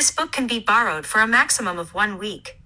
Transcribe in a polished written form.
This book can be borrowed for a maximum of 1 week.